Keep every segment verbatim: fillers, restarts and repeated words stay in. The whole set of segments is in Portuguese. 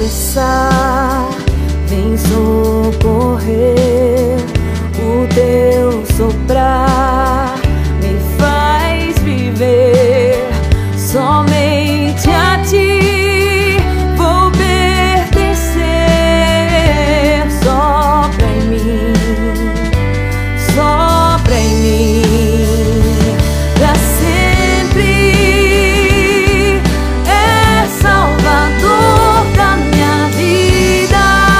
tropeçar, vem socorrer. O teu soprar me faz viver. Somente a ti vou pertencer. Sopra em mim, sopra em mim, pra sempre. É Salvador da minha vida.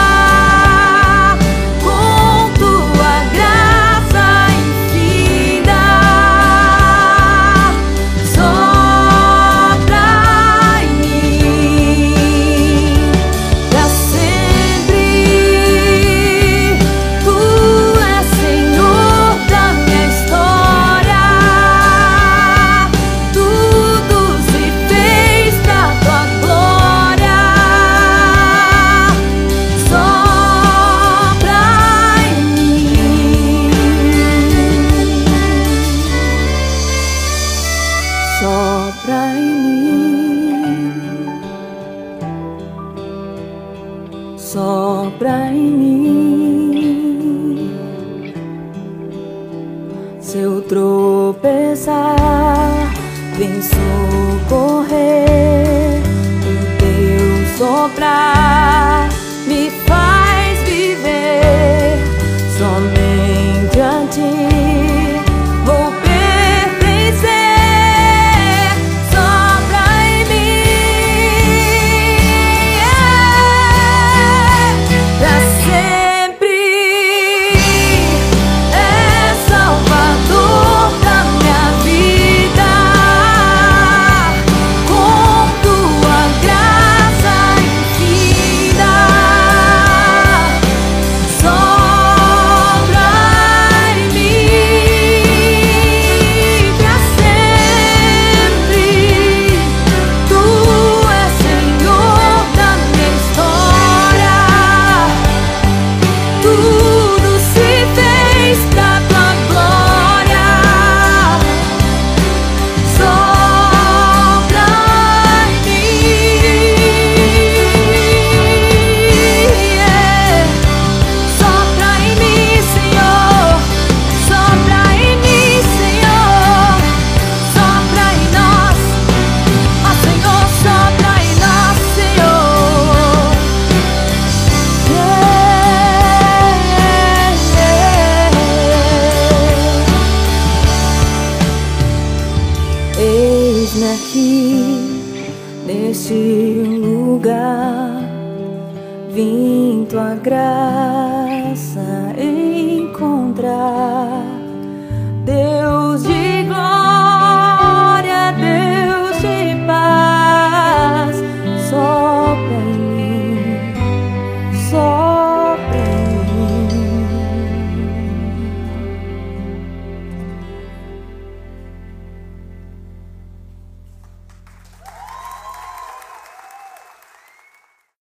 Com tua graça infinita, sopra em mim, pra sempre. Tu és Senhor da minha história. Tudo se fez pra tua glória. Sopra em mim, sopra em mim, sopra em mim. Se eu tropeçar, vem socorrer. O teu soprar me faz viver. Somente a ti vou pertencer. Sopra em mim, pra sempre. É Salvador da minha vida. Com tua graça infinita, sopra em mim, pra sempre. Tu és Senhor da minha história. Tudo se fez pra tua glória. Sopra em mim, sopra em mim, Senhor. Sopra em mim, Senhor. Sopra em nós, ó Senhor. Sopra em nós, Senhor. Eis-me aqui neste lugar, vim tua graça encontrar.